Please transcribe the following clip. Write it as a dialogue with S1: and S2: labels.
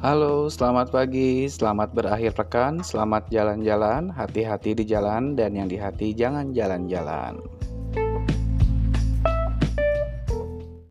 S1: Halo, selamat pagi, selamat berakhir pekan, selamat jalan-jalan, hati-hati di jalan, dan yang di hati jangan jalan-jalan.